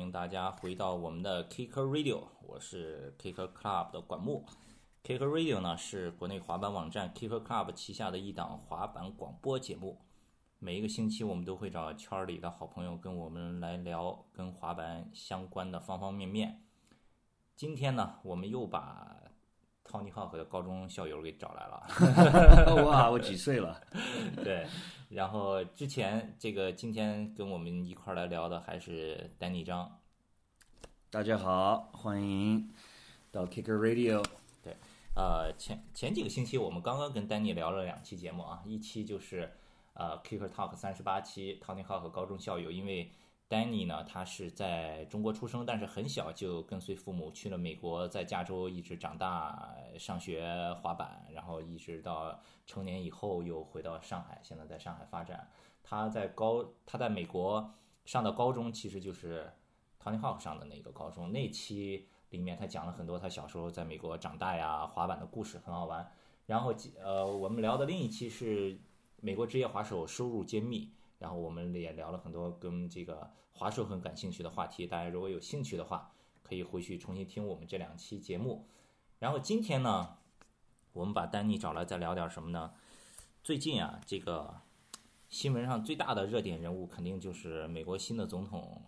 迎大家回到我们的 Kicker Radio， 我是 Kicker Club 的管木。Kicker Radio 呢是国内滑板网站 Kicker Club 旗下的一档滑板广播节目。每一个星期我们都会找圈里的好朋友跟我们来聊跟滑板相关的方方面面。今天呢，我们又把 Tony Hawk 的高中校友给找来了。 哇，我几岁了？ 对，然后今天跟我们一块来聊的还是丹尼张。 大家好，欢迎到 Kicker Radio。 对，前几个星期我们刚刚跟丹尼聊了2期节目啊，一期就是Kicker Talk 38期 Tony Hawk 高中校友，因为丹尼呢，他是在中国出生，但是很小就跟随父母去了美国，在加州一直长大，上学滑板，然后一直到成年以后又回到上海，现在在上海发展。他在美国上的高中其实就是 Tony Hawk 上的那个高中，那期里面他讲了很多他小时候在美国长大呀滑板的故事，很好玩。然后我们聊的另一期是美国职业滑手收入揭秘。然后我们也聊了很多跟这个滑手很感兴趣的话题，大家如果有兴趣的话，可以回去重新听我们这2期节目。然后今天呢，我们把丹尼找来再聊点什么呢？最近啊，这个新闻上最大的热点人物肯定就是美国新的总统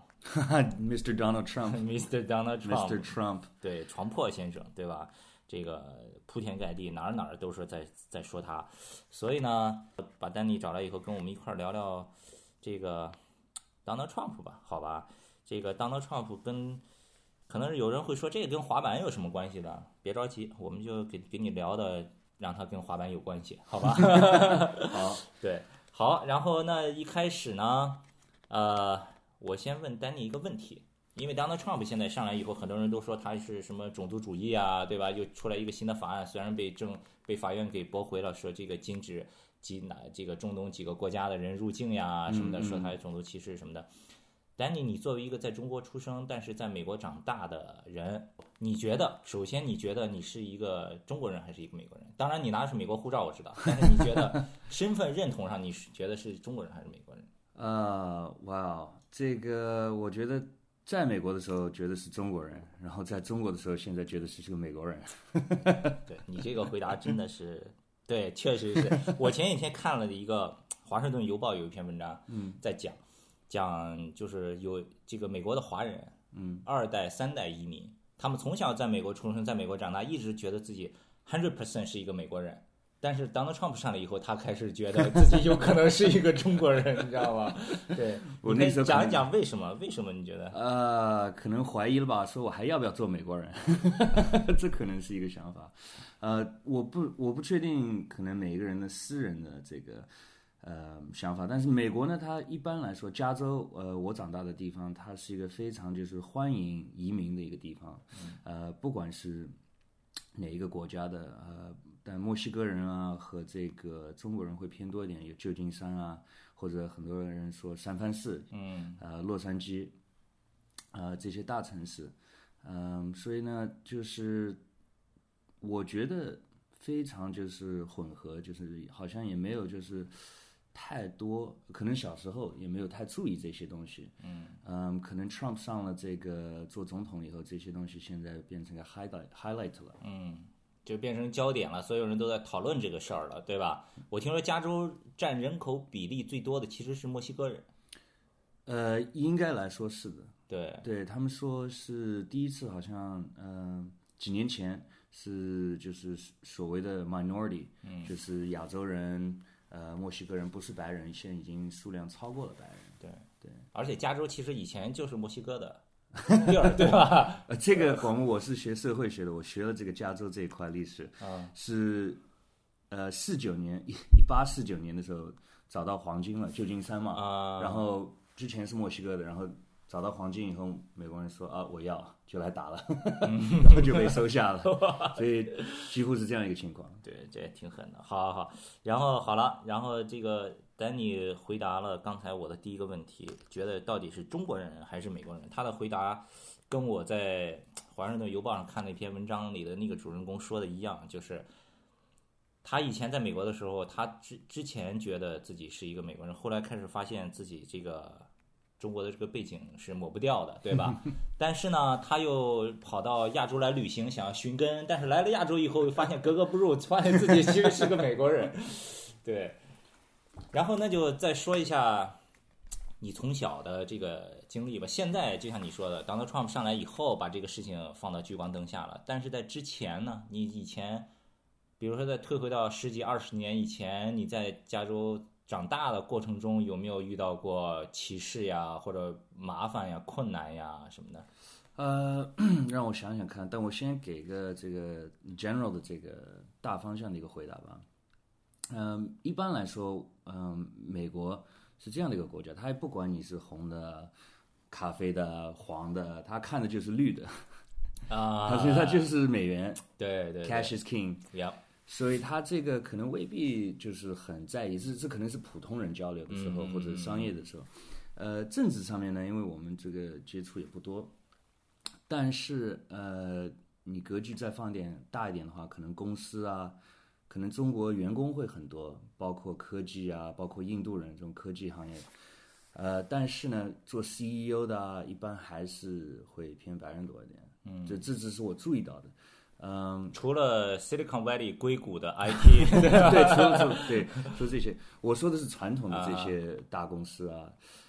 Mr. Donald Trump。Mr. Donald Trump。 对，床破先生，对吧？这个铺天盖地，哪儿都是在说他，所以呢，把丹尼找来以后，跟我们一块聊聊这个 Donald Trump 吧，好吧？这个 Donald Trump 可能有人会说这个跟滑板有什么关系的？别着急，我们就给你聊的，让他跟滑板有关系，好吧？ 好， 对，好，然后那一开始呢，我先问丹尼一个问题。因为 Donald Trump 现在上来以后，很多人都说他是什么种族主义啊，对吧？又出来一个新的法案，虽然被法院给驳回了，说这个禁止这个中东几个国家的人入境呀什么的，说他种族歧视什么的。Danny， 你作为一个在中国出生但是在美国长大的人，首先你觉得你是一个中国人还是一个美国人？当然你拿的是美国护照我知道，但是你觉得身份认同上你觉得是中国人还是美国人？ 哇，这个我觉得。在美国的时候觉得是中国人，然后在中国的时候现在觉得是个美国人。 对，你这个回答真的是对，确实是。我前几天看了一个华盛顿邮报有一篇文章，在讲就是有这个美国的华人，2代3代移民，他们从小在美国出生，在美国长大，一直觉得自己 100% 是一个美国人。但是 Donald Trump 上来以后，他开始觉得自己有可能是一个中国人，你知道吗？对， 我那时候讲一讲为什么你觉得？ 可能怀疑了吧，说我还要不要做美国人？这可能是一个想法。我不确定，可能每一个人的私人的这个想法，但是美国呢，它一般来说，加州我长大的地方，它是一个非常就是欢迎移民的一个地方。不管是哪一个国家的但墨西哥人啊和这个中国人会偏多一点，有旧金山啊，或者很多人说三藩市，洛杉矶，这些大城市，所以呢，就是我觉得非常就是混合，就是好像也没有就是太多，可能小时候也没有太注意这些东西，可能 Trump 上了这个做总统以后，这些东西现在变成个 highlight 了， 就变成焦点了，所有人都在讨论这个事儿了，对吧？我听说加州占人口比例最多的其实是墨西哥人。 应该来说是的。 对， 他们说是第一次，好像几年前是就是所谓的 minority，就是亚洲人、墨西哥人不是白人，现在已经数量超过了白人。对， 而且加州其实以前就是墨西哥的。对吧？ 这个我是学社会学的，我学了这个加州这一块历史，是49年1849年的时候找到黄金了，旧金山嘛，然后之前是墨西哥的，然后找到黄金以后，美国人说我要就来打了，然后就被收下了，所以几乎是这样一个情况。 对，这也挺狠的。好，然后好了，然后这个丹尼回答了刚才我的第一个问题，觉得到底是中国人还是美国人？他的回答跟我在华盛顿邮报上看那篇文章里的那个主人公说的一样，就是他以前在美国的时候，他之前觉得自己是一个美国人，后来开始发现自己这个中国的这个背景是抹不掉的，对吧？但是呢，他又跑到亚洲来旅行，想要寻根，但是来了亚洲以后，发现格格不入，发现自己其实是个美国人。对，然后那就再说一下你从小的这个经历吧。现在就像你说的 ，Donald Trump 上来以后，把这个事情放到聚光灯下了。但是在之前呢，你以前，比如说再退回到十几20年以前，你在加州长大的过程中，有没有遇到过歧视呀，或者麻烦呀、困难呀什么的？ 让我想想看，但我先给个这个 general 的这个大方向的一个回答吧。一般来说，美国是这样的一个国家，它也不管你是红的、咖啡的、黄的，它看的就是绿的啊， 它就是美元， 对对 ，cash is king， ，Yep， 所以他这个可能未必就是很在意，这可能是普通人交流的时候或者商业的时候。政治上面呢，因为我们这个接触也不多，但是你格局再放大一点的话，可能公司啊。可能中国员工会很多，包括科技啊，包括印度人这种科技行业，但是呢，做 CEO 的啊，一般还是会偏白人多一点，这只是我注意到的， 除了 Silicon Valley 硅谷的 IT， 对，除了这些，我说的是传统的这些大公司啊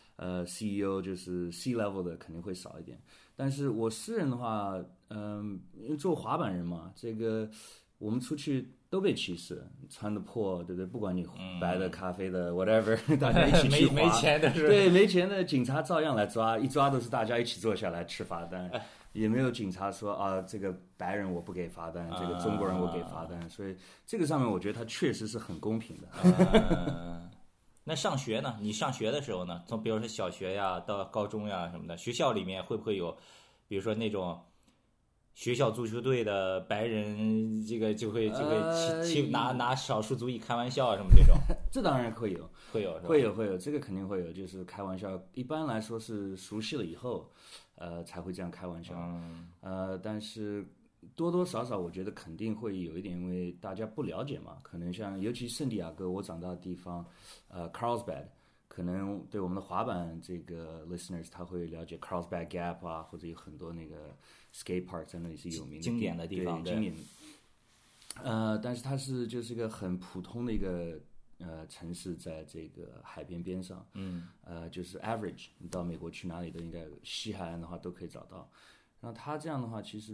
，CEO 就是 C level 的肯定会少一点，但是我私人的话，因为做滑板人嘛，这个我们出去。都被歧视，穿的破，对不对？不管你白的、咖啡的 ，whatever， 大家一起去滑。 没钱的是。 对，没钱的警察照样来抓，一抓都是大家一起坐下来吃罚单，也没有警察说啊，这个白人我不给罚单，这个中国人我给罚单，所以这个上面我觉得它确实是很公平的。 那上学呢？你上学的时候呢？从比如说小学呀到高中呀什么的，学校里面会不会有，比如说那种？学校足球队的白人，这个就会拿少数族裔开玩笑什么这种， 这当然会有， 会有， 这个肯定会有，就是开玩笑。一般来说是熟悉了以后，才会这样开玩笑。但是多多少少我觉得肯定会有一点，因为大家不了解嘛，可能像尤其圣地亚哥，我长大的地方，Carlsbad。可能对我们的滑板这个 listeners 他会了解 Carlsbad Gap 啊，或者有很多那个 skate park 在那里是有名的经典的地方， 对，经典的。但是它就是一个很普通的一个城市，在这个海边边上。就是 average， 你到美国去哪里都应该西海岸的话都可以找到。然后它这样的话，其实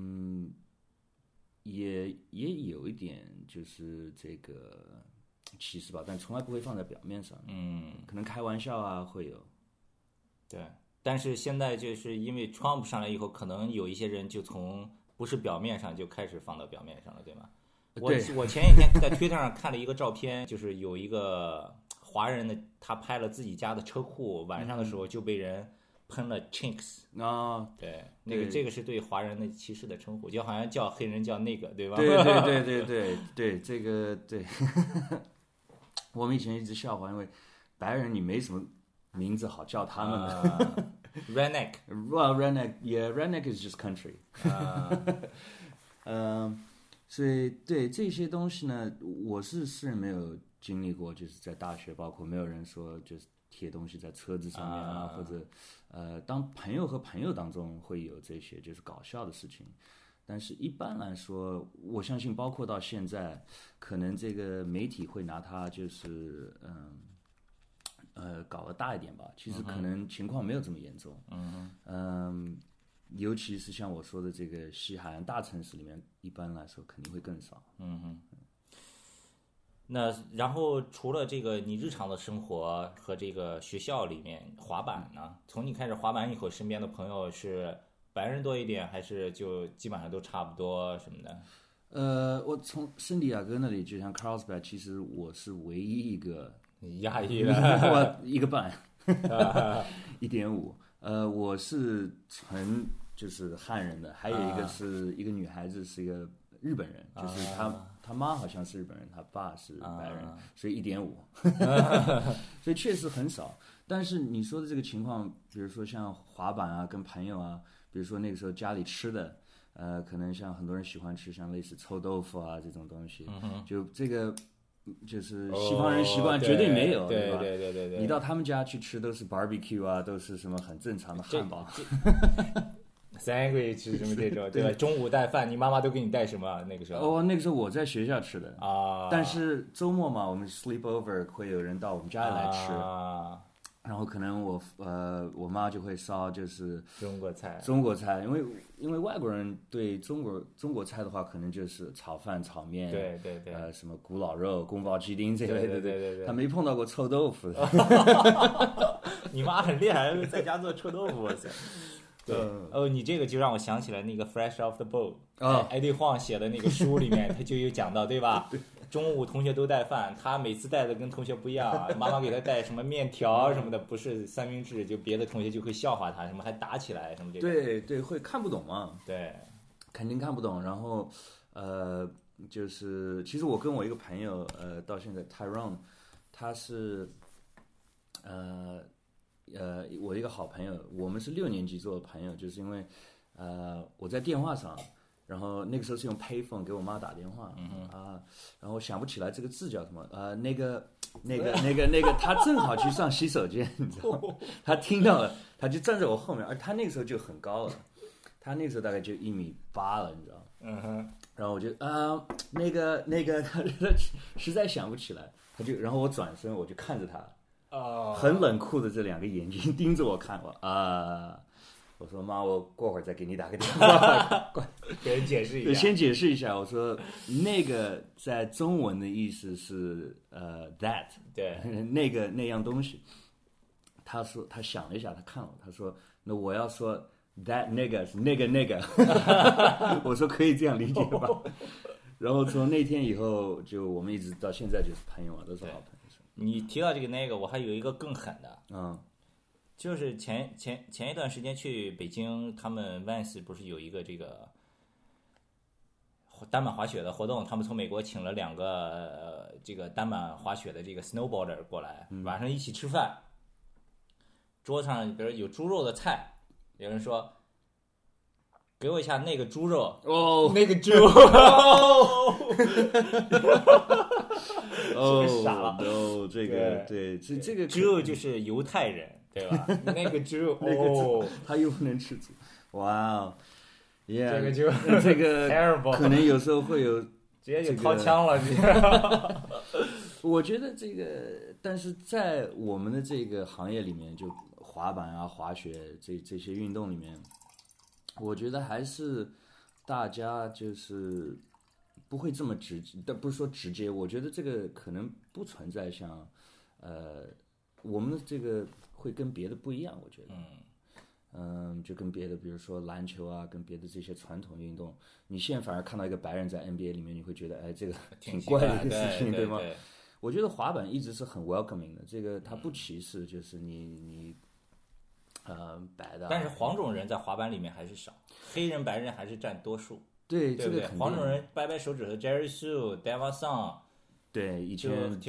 也有一点就是这个。歧视吧，但从来不会放在表面上。可能开玩笑啊会有。 对，但是现在就是因为 Trump 上来以后，可能有一些人就从不是表面上就开始放到表面上了，对吗？我前几天在 Twitter 上看了一个照片，就是有一个华人的，他拍了自己家的车库，晚上的时候就被人喷了 chinks 啊， 对，那个这个是对华人的歧视的称呼，就好像叫黑人叫那个，对吧？ 对，这个对。我们以前一直笑话，因为白人你没什么名字好叫他们的。 Redneck， well redneck is just country。所以对这些东西呢，我是私人没有经历过，就是在大学，包括没有人说就是贴东西在车子上面啊，或者当朋友和朋友当中会有这些就是搞笑的事情。但是一般来说，我相信包括到现在，可能这个媒体会拿它就是搞得大一点吧。其实可能情况没有这么严重。尤其是像我说的这个西海岸大城市里面，一般来说肯定会更少。 那然后除了这个你日常的生活和这个学校里面滑板呢？从你开始滑板以后，身边的朋友是白人多一点，还是就基本上都差不多什么的？ 我从圣地亚哥那里，就像 Carlsbad， 其实我是唯一一个亚裔的， 我一个半，1.5。我是纯就是汉人的，还有一个是一个女孩子，是一个日本人，就是他妈好像是日本人，他爸是白人，所以1.5，所以确实很少。但是你说的这个情况，比如说像滑板啊，跟朋友啊，比如说那个时候家里吃的，可能像很多人喜欢吃像类似臭豆腐啊这种东西，就这个就是西方人习惯绝对没有， 对吧？ 对。 你到他们家去吃都是 barbecue 啊，都是什么很正常的汉堡。 sandwich 什么这种，对吧？中午带饭，你妈妈都给你带什么？那个时候？ 那个时候我在学校吃的啊， 但是周末嘛，我们 sleep over 会有人到我们家里来吃。然后可能我妈就会烧就是中国菜，因为外国人对中国菜的话，可能就是炒饭、炒面， 对， 什么古老肉、宫保鸡丁这类的， 对， 他没碰到过臭豆腐。 你妈很厉害，在家做臭豆腐，哇塞！对，你这个就让我想起来那个 Fresh Off the Boat，艾迪晃写的那个书里面，他就有讲到，对吧？中午同学都带饭，他每次带的跟同学不一样，妈妈给他带什么面条什么的，不是三明治，就别的同学就会笑话他，什么还打起来什么这个。 对，会看不懂嘛。 对， 肯定看不懂。然后就是其实我跟我一个朋友到现在 Tyrone， 他是我一个好朋友，我们是6年级做的朋友，就是因为我在电话上。然后那个时候是用 payphone 给我妈打电话，然后想不起来这个字叫什么，那个，他正好去上洗手间，你知道吗？他听到了，他就站在我后面，而他那个时候就很高了，他那个时候大概就1.8米了，你知道吗？然后我就那个，他实在想不起来，然后我转身我就看着他，很冷酷的这2个眼睛盯着我看我说妈，我过会儿再给你打个电话， 给人解释一下。 先解释一下，我说那个在中文的意思是that， 对， 那样东西。他说他想了一下，他看了，他说那我要说 that 那个是那个，我说可以这样理解吧。然后从那天以后，就我们一直到现在就是朋友嘛，都是好朋友。 你提到这个那个，我还有一个更狠的，就是前一段时间去北京，他们 Vans 不是有一个这个单板滑雪的活动，他们从美国请了2个这个单板滑雪的这个 snowboarder 过来，晚上一起吃饭，桌上比如有猪肉的菜，有人说给我一下那个猪肉那个猪傻了这个对这个猪肉就是犹太人。对吧？那个猪他又不能吃猪，哇，yeah， 这个就这个 terrible， 可能有时候会有直接就掏枪了。 我觉得这个，但是在我们的这个行业里面，就滑板啊、滑雪这些运动里面，我觉得还是大家就是不会这么直接，但不是说直接，我觉得这个可能不存在像我们的这个。会跟别的不一样，我觉得，就跟别的，比如说篮球啊，跟别的这些传统运动，你现在反而看到一个白人在 NBA 里面，你会觉得，哎，这个挺怪的一个事情， 对吗？我觉得滑板一直是很 welcoming 的，这个它不歧视，就是你白的。 但是黄种人在滑板里面还是少，黑人、白人还是占多数。 对， 对不对？ 这个黄种人掰掰手指头 ，Jerry Sue、Deva Song， 对，以前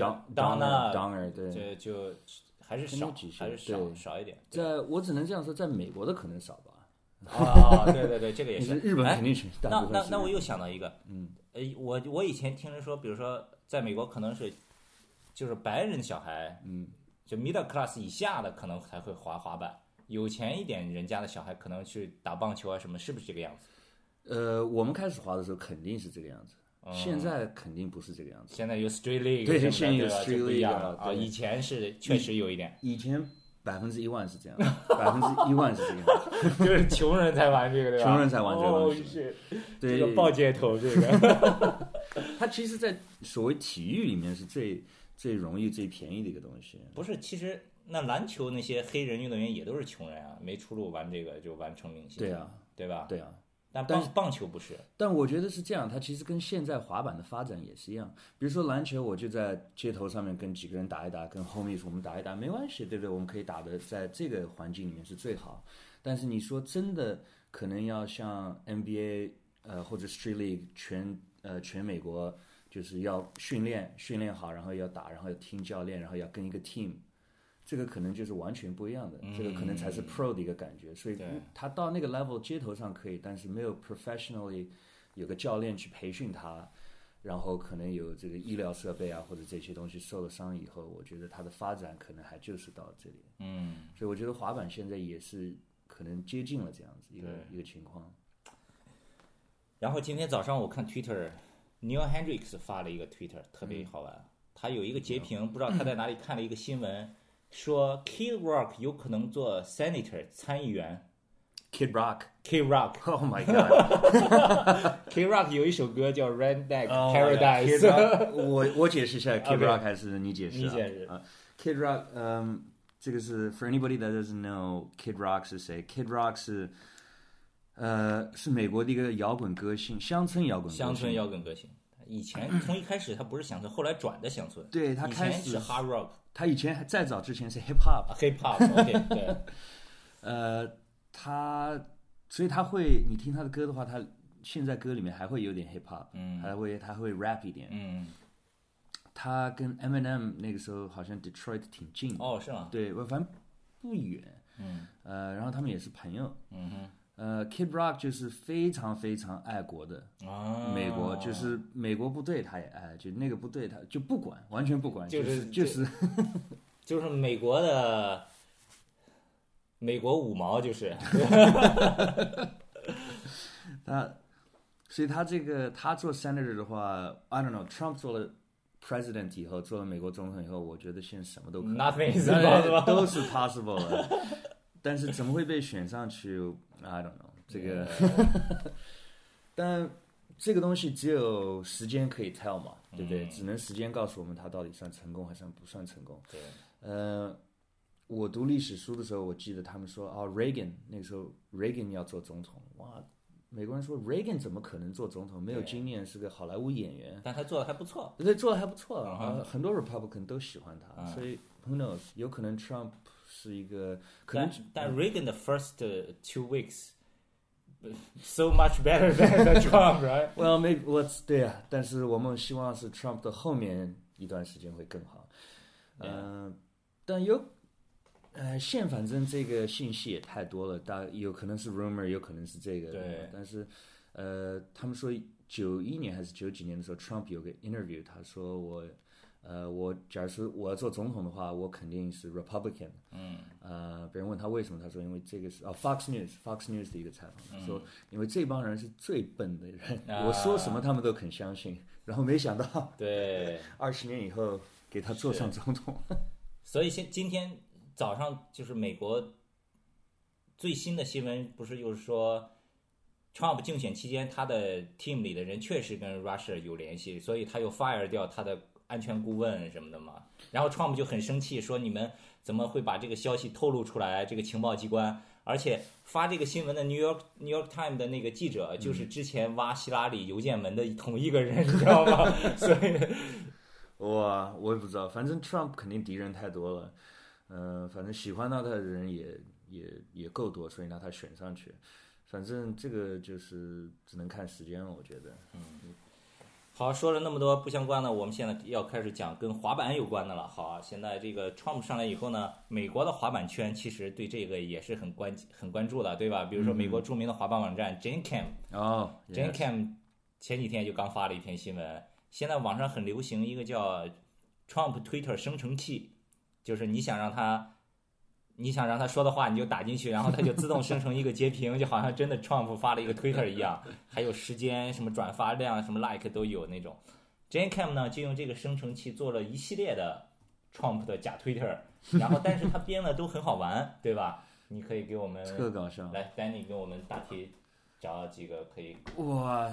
Donna， 对， 就。还是少一点。 我只能这样说，在美国的可能少吧。 对，这个也是。 日本肯定是。 那我又想到一个，我以前听人说，比如说在美国可能是，就是白人小孩，就 middle class 以下的可能才会滑板，有钱一点人家的小孩可能去打棒球啊什么，是不是这个样子？ 我们开始滑的时候肯定是这个样子。现在肯定不是这个样子。 现在有 Street League， 对，现在有 Street League 啊，以前是确实有一点。 以前100%是这样，100%是这个样子，就是穷人才玩这个，对吧？ 穷人才玩这个东西。 对，这个抱街头这个， 它其实，在所谓体育里面是最容易、最便宜的一个东西。 不是，其实那篮球那些黑人运动员也都是穷人啊，没出路玩这个就完成明星。 对啊， 对吧？ 对啊。 但是棒球不是， 但我觉得是这样，它其实跟现在滑板的发展也是一样。比如说篮球，我就在街头上面跟几个人打一打，跟 homies 我们打一打，没关系，对不对？我们可以打的在这个环境里面是最好。但是你说真的，可能要像 NBA 或者 Street League 全美国，就是要训练好，然后要打，然后要听教练，然后要跟一个 team。这个可能就是完全不一样的，这个可能才是 pro 的一个感觉，所以他到那个 level 街头上可以，但是没有 professionally 有个教练去培训他， 然后可能有这个医疗设备啊或者这些东西受了伤以后，我觉得它的发展可能还就是到这里。所以我觉得滑板现在也是可能接近了这样子一个情况。 然后今天早上我看 Twitter，Neil Hendricks 发了一个 Twitter， 特别好玩。他有一个截屏，不知道他在哪里看了一个新闻，说 Kid Rock 有可能做 Senator 参议员。 Kid Rock ，Oh my god Kid Rock 有一首歌叫 Redneck Paradise。 Paradise。 我解释一下 Kid Rock 还是你解释？ 你解释啊。Kid Rock，这个是 for anybody that doesn't know Kid Rock 是谁 ？Kid Rock 是美国的一个摇滚歌星，乡村摇滚歌星。以前从一开始他不是乡村，后来转的乡村。 对，他开始是 hard rock。 他以前再早之前是 hip hop。hip hop，OK， 对。 所以他会，你听他的歌的话，他现在歌里面还会有点 hip hop，他会 rap 一点。他跟 Eminem 那个时候好像 Detroit 挺近的。 哦，是吗？ 对，反正不远。然后他们也是朋友。Kid Rock 就是非常非常爱国的。美国就是美国部队他也爱，就那个部队他就不管，完全不管，就是美国五毛就是所以他做 senator 的话 I don't know Trump 做了 president 以后，做了美国总统以后，我觉得现在什么都可能 Nothing is possible 都是 possible 的。但是怎么会被选上去 I don't know 这个但这个东西只有时间可以 tell 嘛，对不对？只能时间告诉我们他到底算成功还是不算成功。 对。 我读历史书的时候，我记得他们说Reagan 那个时候 Reagan 要做总统，哇，美国人说 Reagan 怎么可能做总统？没有经验，是个好莱坞演员， 但他做的还不错。 对，做的还不错。很多 Republican 都喜欢他，所以 Who knows？ 有可能 Trump 是一个可能， 但 Reagan 的 first 2 weeks so much better than Trump, right? Well, maybe 对啊，但是我们希望是 Trump 的后面一段时间会更好。但现反正这个信息也太多了，有可能是 rumor， 有可能是这个。 对。 但是他们说91年还是90几年的时候 ，Trump 有个 interview， 他说我假如说我要做总统的话，我肯定是 Republican。别人问他为什么，他说因为这个是Fox News 的一个采访，说因为这帮人是最笨的人，我说什么他们都肯相信。然后没想到， 对 ，20年以后给他做上总统。 所以今天早上就是美国最新的新闻，不是就是说 Trump 竞选期间他的 team 里的人确实跟 Russia 有联系，所以他又 fire 掉他的安全顾问什么的嘛。然后 Trump 就很生气，说你们怎么会把这个消息透露出来，这个情报机关，而且发这个新闻的 New York Times 的那个记者就是之前挖希拉里邮件门的同一个人，你知道吗？所以我也不知道，反正 Trump 肯定敌人太多了。反正喜欢他的人也够多，所以让他选上去。反正这个就是只能看时间了，我觉得。 好，说了那么多不相关的，我们现在要开始讲跟滑板有关的了。好啊，现在这个 Trump 上来以后呢，美国的滑板圈其实对这个也是很关注的，对吧？比如说美国著名的滑板网站 JaneCam，JaneCam 前几天就刚发了一篇新闻，现在网上很流行一个叫 Trump Twitter 生成器，就是你想让他说的话，你就打进去，然后他就自动生成一个截屏，就好像真的 Trump 发了一个 Twitter 一样，还有时间、什么转发量、什么 like 都有那种。JaneCam 呢就用这个生成器做了一系列的 Trump 的假 Twitter， 然后但是他编的都很好玩，对吧？你可以给我们特搞笑， 来 Danny 给我们大体找几个可以。 哇，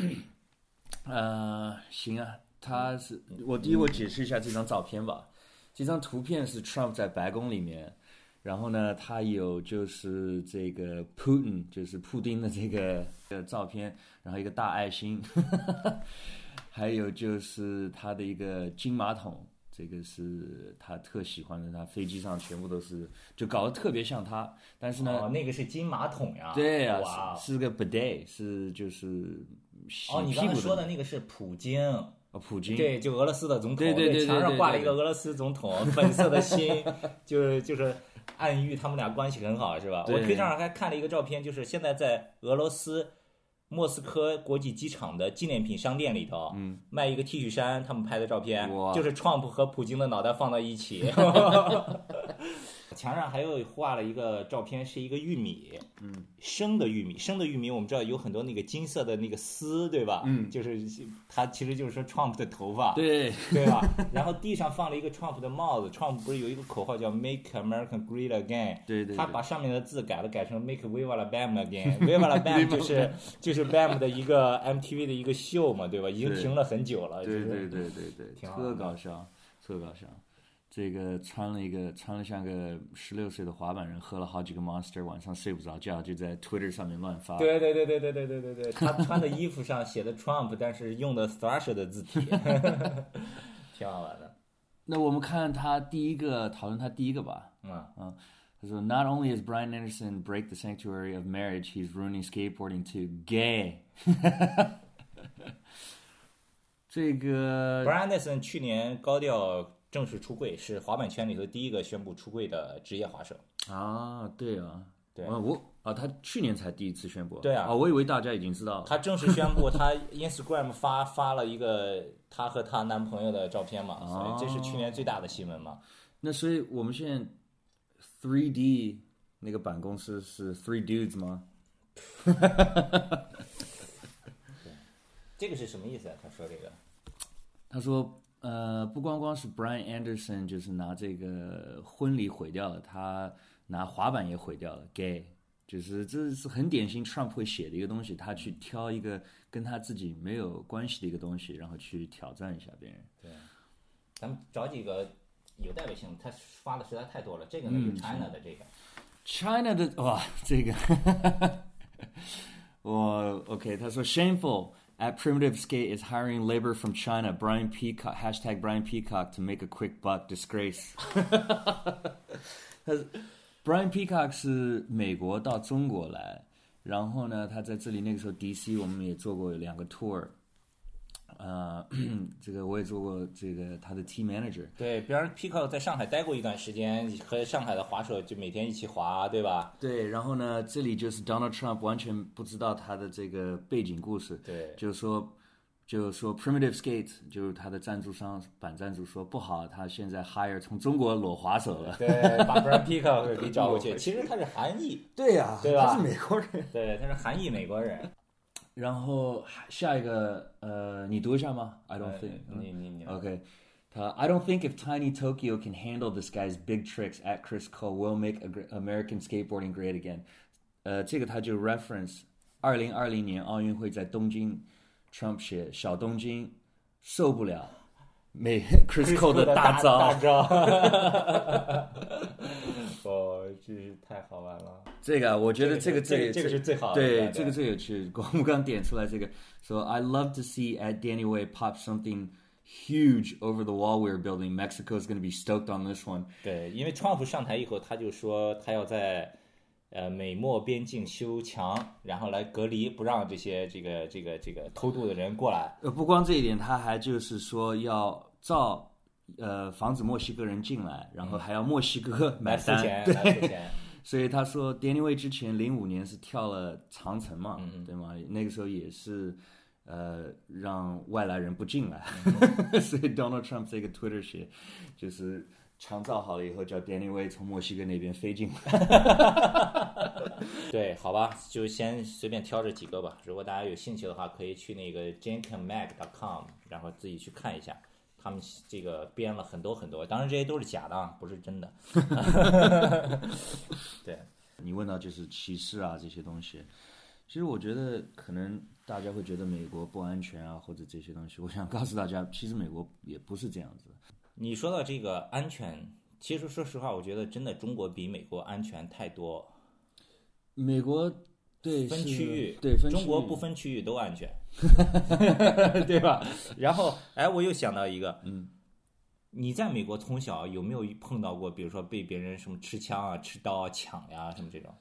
行啊，他是我解释一下这张照片吧。这张图片是 Trump 在白宫里面。然后呢，他有就是这个 Putin， 就是普丁的这个照片，然后一个大爱心，还有就是他的一个金马桶，这个是他特喜欢的，他飞机上全部都是，就搞得特别像他。但是呢， 那个是金马桶呀， 对呀，是个 bidet， 是就是洗屁股的。 你刚才说的那个是普京。 普京， 对，就俄罗斯的总统， 对， 墙上挂了一个俄罗斯总统，粉色的心，就是暗喻他们俩关系很好，是吧？我推上还看了一个照片，就是现在在俄罗斯莫斯科国际机场的纪念品商店里头，卖一个 T 恤衫，他们拍的照片，就是 Trump 和普京的脑袋放到一起。墙上还有画了一个照片，是一个玉米，生的玉米，我们知道有很多那个金色的那个丝，对吧？就是它其实就是说 Trump 的头发， 对吧？然后地上放了一个 Trump 的帽子 ，Trump 不是有一个口号叫 Make America Great Again？ 对， 他把上面的字改成 Make Viva la Bam Again。Viva la Bam 就是 Bam 的一个 MTV 的一个秀嘛，对吧？已经停了很久了。 对， 挺好， 特搞笑。这个穿了像个16岁的滑板人，喝了好几个 Monster， 晚上睡不着觉，就在 Twitter 上面乱发。 对，他穿的衣服上写的 Trump， 但是用的 Thrasher 的字体，挺好玩的。 那我们看讨论他第一个吧。他说 Not only is Brian Anderson break the sanctuary of marriage, he's ruining skateboarding too. Gay 。这个 Brian Anderson 去年高调正式出柜，是滑板圈里头第一个宣布出柜的职业滑手啊。对，他去年才第一次宣布。 对啊， 我以为大家已经知道了。 他正式宣布，他 Instagram 发了一个他和他男朋友的照片嘛，所以这是去年最大的新闻嘛。 那所以我们现在 3D 那个板公司是 Three Dudes 吗？ 这个是什么意思啊？他说这个， 他说不光光是 Brian Anderson 就是拿这个婚礼毁掉了，他拿滑板也毁掉了 ，gay， 就是这是很典型 Trump 会写的一个东西，他去挑一个跟他自己没有关系的一个东西，然后去挑战一下别人。 对，咱们找几个有代表性，他发的实在太多了。这个呢，就 China 的这个 ，China 的哇，这个OK， 他说 shameful。At Primitive Skate is hiring labor from China. Brian Peacock #Brian Peacock to make a quick buck. Disgrace. Brian Peacock 是美国到中国来，然后呢，他在这里那个时候 DC 我们也做过2个 tour。这个我也做过，这个他的 team manager。 对，比方 Peacock 在上海待过一段时间，和上海的滑手就每天一起滑，对吧？ 对，然后呢，这里就是 Donald Trump 完全不知道他的这个背景故事。 对， 就是说 Primitive Skate 就是他的赞助商板赞助说不好，他现在 hire 从中国裸滑手了。 对，把 Brian Peacock 给找过去。其实他是韩裔。 对呀， 对吧？ 他是美国人。 对，他是韩裔美国人。 然后下一个你读一下吗 ？I don't think 你 OK。I don't think if Tiny Tokyo can handle this guy's big tricks at Chris Cole, will make American skateboarding great again。这个他就 reference 2020年奥运会在东京 ，Trump 写小东京受不了Chris Cole 的大招。 哦，真是太好玩了。 这个我觉得这个是最好的。 对，这个最有趣。我们刚点出来这个，说 I love to see at Danny Way pop something huge over the wall we are building. Mexico is going to be stoked on this one. 对，因为川普上台以后，他就说他要在美墨边境修墙，然后来隔离，不让这些这个偷渡的人过来。 不光这一点，他还就是说要防止墨西哥人进来，然后还要墨西哥买单， 来付钱。 所以他说 Danny Way 之前05年是跳了长城嘛，对吗？那个时候也是让外来人不进来，所以 Donald Trump 这个 Twitter 写就是墙造好了以后叫 Danny Way 从墨西哥那边飞进来。 对，好吧，就先随便挑这几个吧。如果大家有兴趣的话，可以去那个 jenkinmag.com， 然后自己去看一下。他们这个编了很多很多，当然这些都是假的啊，不是真的。对， 你问到就是歧视啊这些东西，其实我觉得可能大家会觉得美国不安全啊，或者这些东西。我想告诉大家，其实美国也不是这样子。 你说到这个安全，其实说实话，我觉得真的中国比美国安全太多。 美国对分区域， 对分区域， 中国不分区域都安全，对吧？然后，我又想到一个，你在美国从小有没有碰到过，比如说被别人什么持枪啊、持刀啊、抢呀什么这种？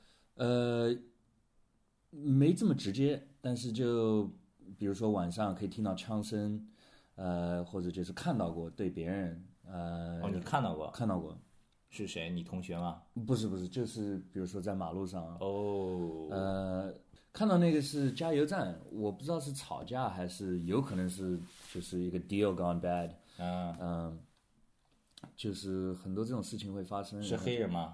没这么直接，但是就比如说晚上可以听到枪声，或者就是看到过对别人， 你看到过？ 看到过。 是谁？你同学吗？ 不是，就是比如说在马路上， 看到那个是加油站，我不知道是吵架还是有可能是就是一个 deal gone bad。就是很多这种事情会发生。 是黑人吗？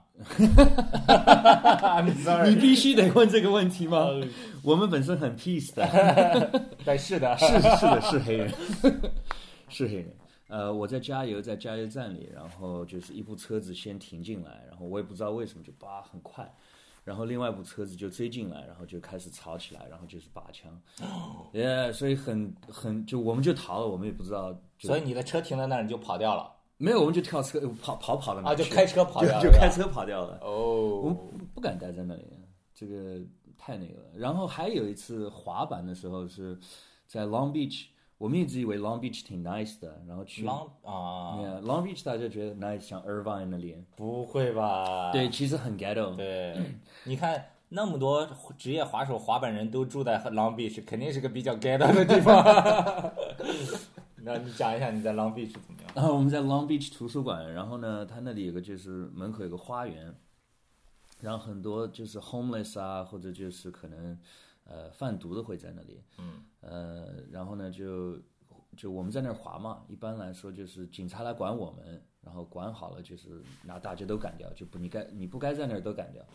你必须得问这个问题吗？我们本身很 peace 的。 但是的， 是黑人，是黑人。我在加油，在加油站里，然后就是一部车子先停进来，然后我也不知道为什么就很快，然后另外一部车子就追进来，然后就开始吵起来，然后就是拔枪，所以就我们就逃了，我们也不知道。 所以你的车停在那儿，你就跑掉了？ 没有，我们就跳车跑到那就开车跑掉了， 就开车跑掉了。 我们不敢待在那里，这个太那个了。然后还有一次滑板的时候是在 Long Beach。我们一直以为 Long Beach 挺 nice 的，然后去 Long Beach 大家觉得 nice， 像 Irvine 那里。 不会吧？ 对，其实很 ghetto。 对，你看那么多职业滑手、滑板人都住在 Long Beach， 肯定是个比较 ghetto 的地方。那你讲一下你在 Long Beach 怎么样？ 我们在 Long Beach 图书馆，然后呢，它那里有个就是门口有个花园，然后很多就是 homeless 啊，或者就是可能贩毒的会在那里。然后呢就我们在那儿滑嘛，一般来说就是警察来管我们，然后管好了就是拿大家都赶掉，就你不该在那儿都赶掉。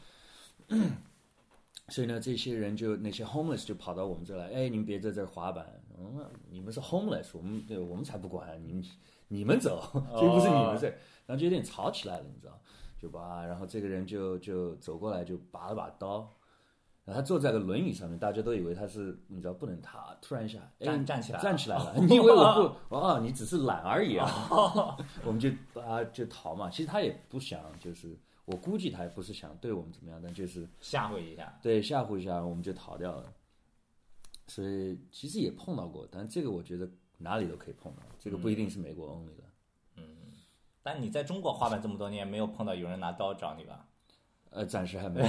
所以呢，这些人那些 homeless 就跑到我们这儿来，你们别在这儿滑板，你们是 homeless， 我们才不管，你们走，这不是你们事儿。然后就有点吵起来了，你知道，然后这个人就走过来就拔了把刀。然后他坐在个轮椅上面，大家都以为他是，你知道不能他突然一下站起来了，你以为我不你只是懒而已啊。我们就逃嘛，其实他也不想，就是我估计他也不是想对我们怎么样，但就是吓唬一下， 对，吓唬一下我们就逃掉了。所以其实也碰到过，但这个我觉得哪里都可以碰到，这个不一定是美国 only 的。 但你在中国滑板这么多年，没有碰到有人拿刀找你吧？ 暂时还没有。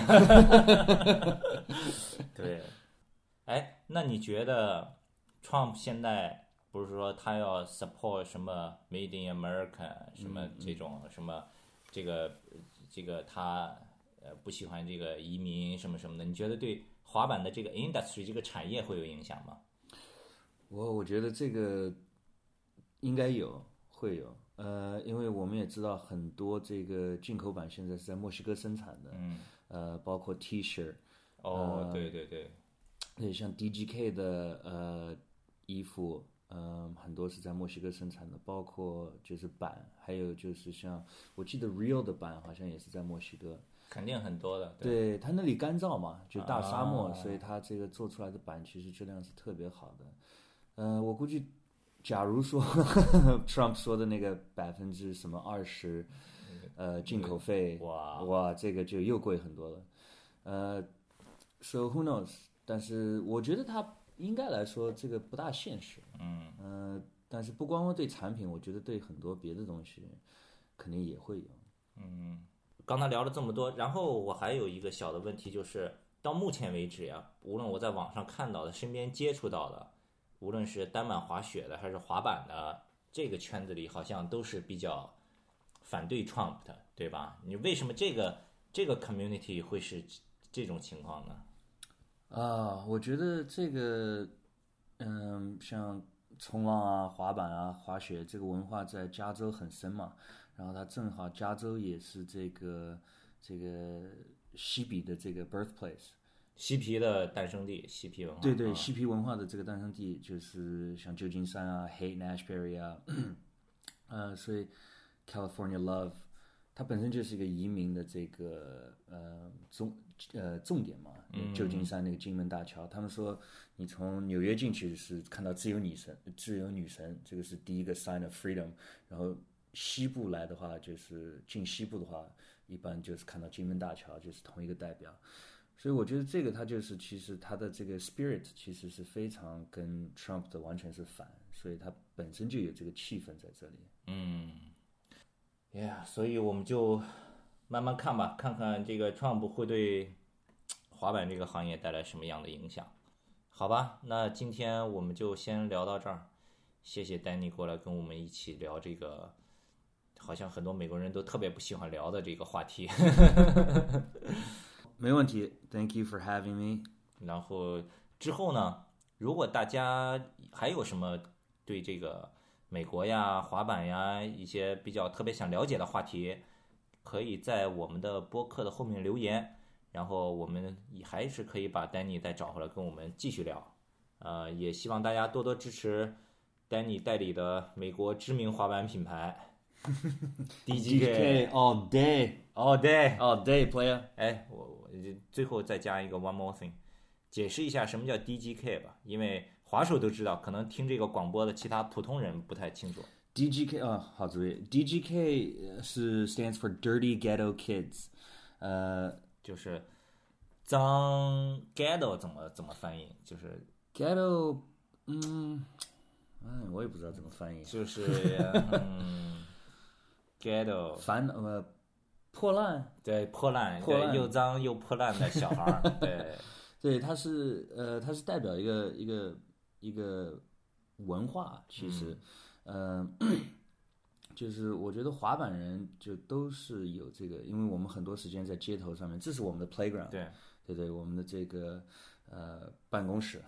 对，那你觉得 Trump 现在不是说他要 support 什么 Made in America 什么这种什么这个他不喜欢这个移民什么什么的？你觉得对滑板的这个 industry 这个产业会有影响吗？ 我觉得这个应该会有。因为我们也知道很多这个进口版现在是在墨西哥生产的，包括 T 恤。对，像 DGK 的衣服，很多是在墨西哥生产的，包括就是板，还有就是像我记得 Real 的板好像也是在墨西哥。 肯定很多的。 对，它那里干燥嘛，就大沙漠，所以它这个做出来的板其实质量是特别好的。我估计。假如说Trump 说的那个20%进口费，哇，这个就又贵很多了。So who knows？ 但是我觉得他应该来说这个不大现实。但是不光光对产品，我觉得对很多别的东西肯定也会有。 刚才聊了这么多，然后我还有一个小的问题，就是到目前为止呀，无论我在网上看到的、身边接触到的。无论是单板滑雪的还是滑板的，这个圈子里好像都是比较反对 Trump 的，对吧？你为什么这个 community 会是这种情况呢？ 我觉得这个，像冲浪啊、滑板啊、滑雪这个文化在加州很深嘛，然后它正好加州也是这个嬉皮的这个 birthplace。 嬉皮的诞生地，嬉皮文化。 对，嬉皮文化的这个诞生地就是像旧金山啊、Haight-Ashbury 啊，所以 California Love， 它本身就是一个移民的这个重点嘛。旧金山那个金门大桥，他们说你从纽约进去是看到自由女神，这个是第一个 sign of freedom。然后西部来的话，就是进西部的话，一般就是看到金门大桥，就是同一个代表。所以我觉得这个它就是其实它的这个 spirit 其实是非常跟 Trump 的完全是反，所以它本身就有这个气氛在这里。 所以我们就慢慢看吧，看看这个 Trump 会对滑板这个行业带来什么样的影响。好吧，那今天我们就先聊到这儿，谢谢丹尼过来跟我们一起聊这个好像很多美国人都特别不喜欢聊的这个话题。 没问题 ，Thank you for having me。 然后之后呢，如果大家还有什么对这个美国呀、滑板呀一些比较特别想了解的话题，可以在我们的播客的后面留言，然后我们还是可以把丹尼再找回来跟我们继续聊。也希望大家多多支持丹尼代理的美国知名滑板品牌 DGK all day all day all day player。 哎，我最后再加一个 one more thing， 解释一下什么叫 DGK 吧，因为滑手都知道，可能听这个广播的其他普通人不太清楚。 DGK 好主意 ，DGK 是 stands for Dirty Ghetto Kids， 就是脏 ghetto 怎么翻译？就是 ghetto，我也不知道怎么翻译， 就是ghetto 破烂， 对，破烂，对，又脏又破烂的小孩儿，对， 对，它是代表一个文化，其实，就是我觉得滑板人就都是有这个，因为我们很多时间在街头上面，这是我们的 playground，对，我们的这个办公室，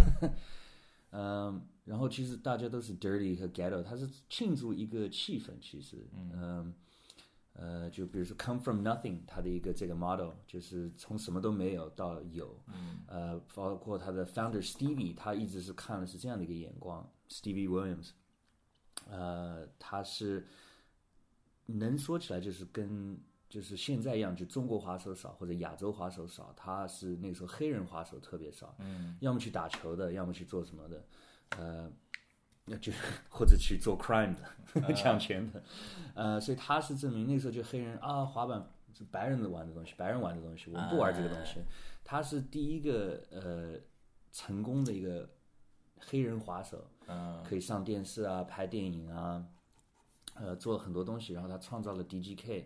然后其实大家都是 dirty 和 ghetto， 它是庆祝一个气氛，其实，就比如说 come from nothing， 它的一个这个 model 就是从什么都没有到有，包括他的 founder Stevie， 他一直是看的是这样的一个眼光 ，Stevie Williams，他是能说起来就是现在一样，就中国滑手少或者亚洲滑手少，他是那个时候黑人滑手特别少，要么去打球的，要么去做什么的，就或者去做 crime 的抢钱的，所以他是证明那时候就黑人啊，滑板是白人玩的东西，白人玩的东西，我们不玩这个东西。他是第一个成功的一个黑人滑手，可以上电视啊，拍电影啊，做了很多东西，然后他创造了 DGK，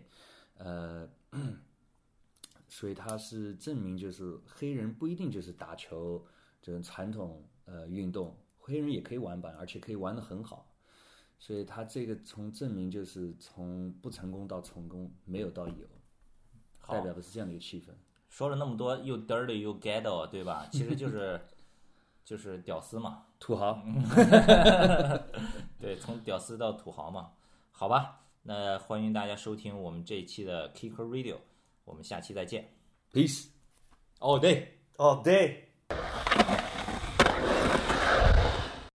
所以他是证明就是黑人不一定就是打球这种传统运动。黑人也可以玩板，而且可以玩得很好，所以他这个从证明就是从不成功到成功，没有到有，代表的是这样的一个气氛。 说了那么多，又 dirty 又 ghetto， 对吧？其实就是屌丝嘛， 土豪。 对，从屌丝到土豪嘛。好吧，那欢迎大家收听我们这一期的 Kicker Radio， 我们下期再见。 Peace all day all day。